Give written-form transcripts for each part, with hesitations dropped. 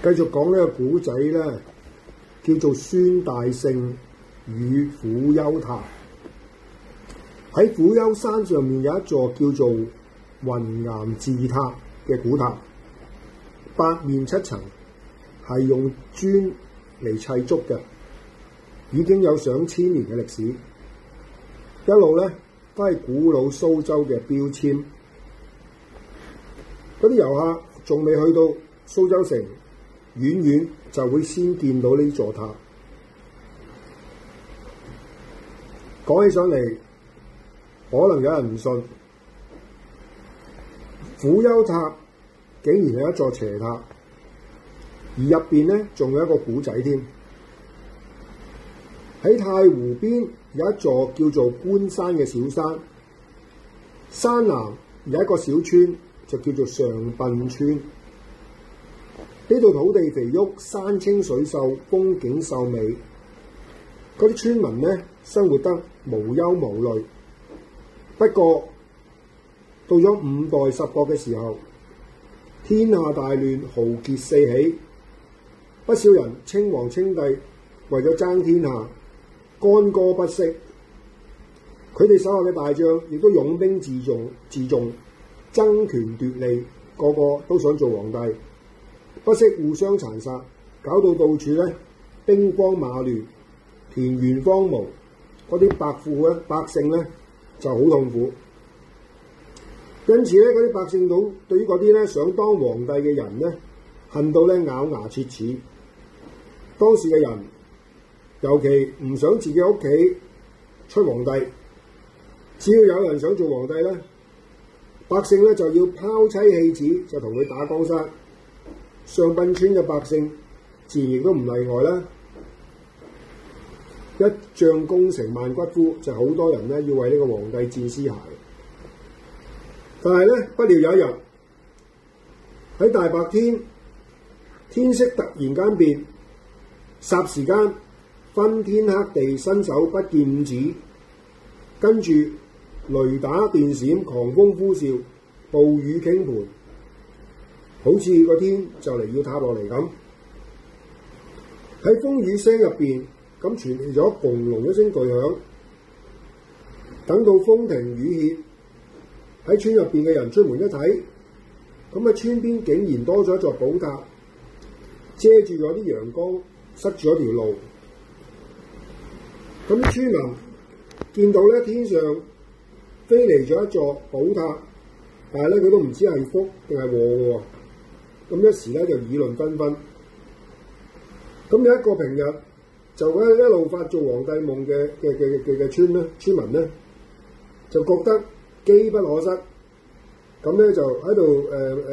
繼續講呢個古仔咧，叫做孫大聖與虎丘塔。喺虎丘山上面有一座叫做雲岩寺塔嘅古塔，八面七層，係用磚嚟砌築嘅，已經有上千年嘅歷史，一路咧都係古老蘇州嘅標籤。嗰啲遊客仲未去到蘇州城，遠遠就會先見到呢座塔。講起上嚟，可能有人唔信，虎丘塔竟然係一座邪塔，而入邊咧仲有一個古仔添。喺太湖邊有一座叫做觀山嘅小山，山南有一個小村，就叫做上賓村。呢度土地肥沃，山清水秀，風景秀美。嗰啲村民呢，生活得無憂無慮。不過到咗5代10國嘅時候，天下大亂，豪傑四起，不少人稱王稱帝，為咗爭天下，干戈不息。佢哋手下嘅大將亦都擁兵自重，爭權奪利，個個都想做皇帝，不惜互相殘殺，搞到處咧兵荒馬亂，田園荒蕪，嗰啲百姓咧就好痛苦。因此咧，嗰啲百姓對於嗰啲咧想當皇帝嘅人咧，恨到咧咬牙切齒。當時嘅人尤其唔想自己屋企出皇帝，只要有人想做皇帝咧，百姓咧就要拋妻棄子，就同佢打江山。上賓村嘅百姓自然亦都唔例外啦。一將功成萬骨枯，就好多人咧要為呢個皇帝戰屍骸。但係咧，不料有一日喺大白天，天色突然間變，霎時間昏天黑地，伸手不見五指，跟住雷打電閃，狂風呼嘯，暴雨傾盆，好似個天就嚟要塌落嚟咁。喺風雨聲入邊，咁傳嚟咗轟隆一聲巨響。等到風停雨歇，喺村入邊嘅人出門一睇，咁啊村邊竟然多咗一座寶塔，遮住咗啲陽光，塞住咗條路。咁村民見到咧天上飛嚟咗一座寶塔，但係咧佢都唔知係福定係禍嘅喎。咁一時咧就議論紛紛。咁有一個平日就一路發做皇帝夢嘅村民咧，就覺得機不可失，咁咧就喺度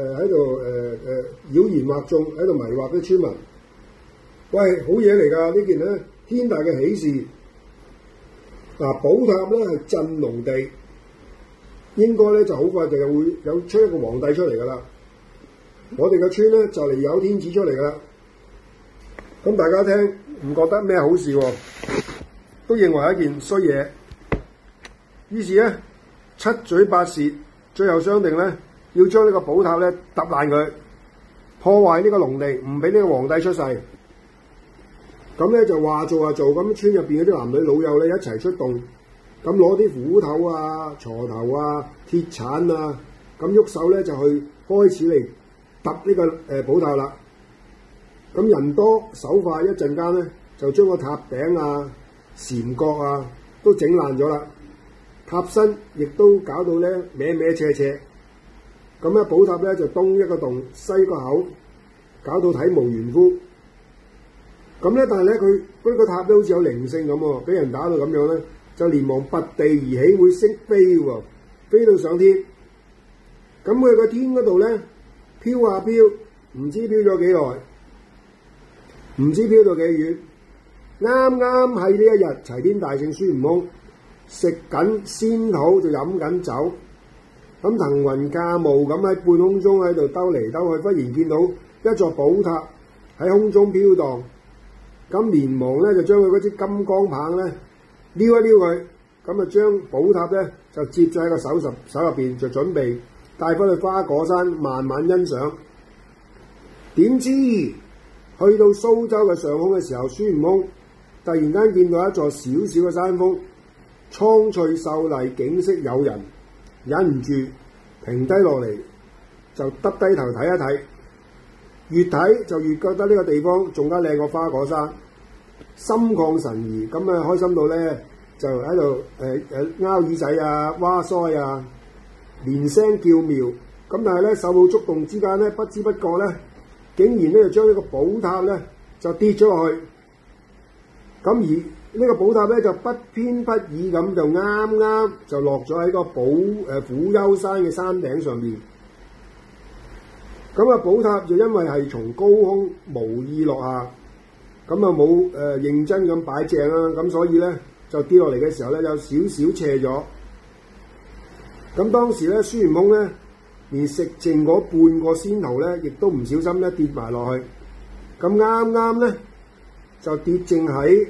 妖言惑眾，喺度迷惑啲村民。喂，好嘢嚟㗎！呢件咧天大嘅喜事。嗱，寶塔咧係鎮龍地，應該咧就好快就會有出一個皇帝出嚟㗎啦。我哋個村咧就嚟有天子出嚟㗎啦。咁大家聽唔覺得咩好事喎？都認為係一件衰嘢。於是咧七嘴八舌，最後商定咧要將呢個寶塔咧揼爛佢，破壞呢個龍地，唔俾呢個皇帝出世。咁咧就話做就做，咁村入邊嗰啲男女老幼咧一齊出動，咁攞啲斧頭啊、鋤頭啊、鐵鏟啊，咁喐手咧就去開始嚟揼呢個寶塔啦。咁人多手快，一陣間咧就將個塔頂啊、檐角啊都整爛咗啦，塔身亦都搞到咧歪歪斜斜。咁咧寶塔咧就東一個洞西一個口，搞到體無完膚。咁咧，但係咧佢嗰個塔咧好似有靈性咁喎，俾人打到咁樣咧，就連忙拔地而起，會識飛喎，飛到上天。咁佢個天嗰度咧飄下飄，唔知飄咗幾耐，唔知飄到幾遠。啱啱喺呢一日，齊天大聖孫悟空食緊仙桃就飲緊酒，咁騰雲駕霧咁喺半空中喺度兜嚟兜去，忽然見到一座寶塔喺空中飄蕩。咁連忙咧就將佢嗰支金剛棒咧撩一撩佢，咁啊將寶塔咧就接咗喺個手入邊，就準備帶翻去花果山慢慢欣賞。點知去到蘇州嘅上空嘅時候，孫悟空突然間見到一座小小嘅山峰，蒼翠秀麗，景色誘人，忍唔住停低落嚟，就耷低頭睇一睇，越睇就越覺得呢個地方仲加靚過花果山，心曠神怡，咁啊開心到咧就喺度拗耳仔啊、蛙腮啊，連聲叫妙。咁但係咧手舞足動之間咧，不知不覺咧，竟然咧就將呢個寶塔咧就跌咗落去。咁而呢個寶塔咧就不偏不倚咁就啱啱就落咗喺個虎丘山嘅山頂上面。咁啊寶塔就因為係從高空無意落下，咁啊冇認真咁擺正啦，咁所以咧就跌落嚟嘅時候咧有少少斜咗。咁當時咧孫悟空咧連食剩嗰半個仙桃咧，亦都唔小心咧跌埋落去。咁啱啱咧就跌正喺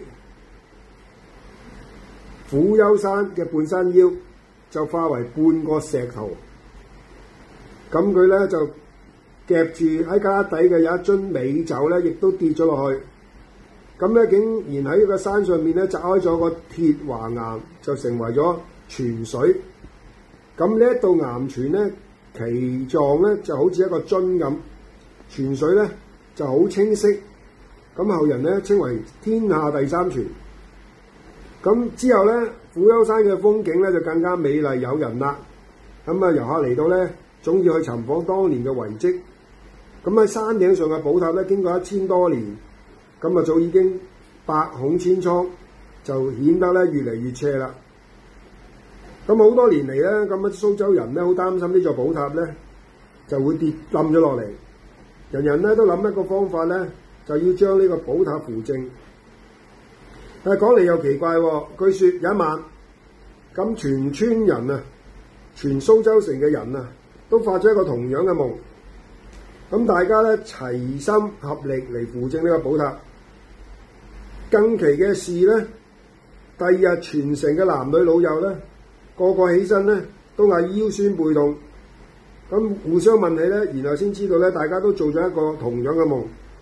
虎丘山嘅半山腰，就化為半個石頭。咁佢咧就夾住喺架底嘅有一樽美酒咧，亦都跌咗落去。咁咧竟然喺個山上面咧砸開咗個鐵華岩，就成為咗泉水。咁呢一道岩泉咧，其狀咧就好似一個樽咁，泉水咧就好清晰。咁後人咧稱為天下第三泉。咁之後咧，虎丘山嘅風景咧就更加美麗誘人啦。咁啊遊客嚟到咧，總要去尋訪當年嘅遺跡。咁喺山頂上嘅寶塔咧，經過1000多年，咁啊早已經百孔千瘡，就顯得咧越嚟越斜啦。咁好多年嚟咧，咁啊蘇州人咧好擔心呢座寶塔咧就會跌冧咗落嚟，人人咧都諗一個方法咧，就要將呢個寶塔扶正。但係講嚟又奇怪喎，據說有一晚，咁全村人啊，全蘇州城嘅人啊，都發咗一個同樣嘅夢。咁大家咧齊心合力嚟扶正呢個寶塔。更奇嘅事咧，第二日全城嘅男女老幼咧，個個起身咧都係腰酸背痛。咁互相問起咧，然後先知道咧，大家都做咗一個同樣嘅夢。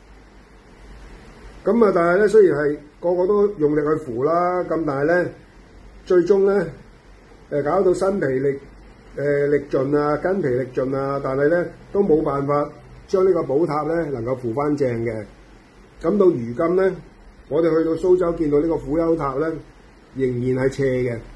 咁啊，但係咧，雖然係個個都用力去扶啦，咁但係咧，最終咧搞到身疲力盡啊，筋疲力盡啊，但係咧都冇辦法將呢個寶塔咧能夠扶翻正嘅。咁到如今咧，我哋去到蘇州見到呢個虎丘塔咧，仍然係斜嘅。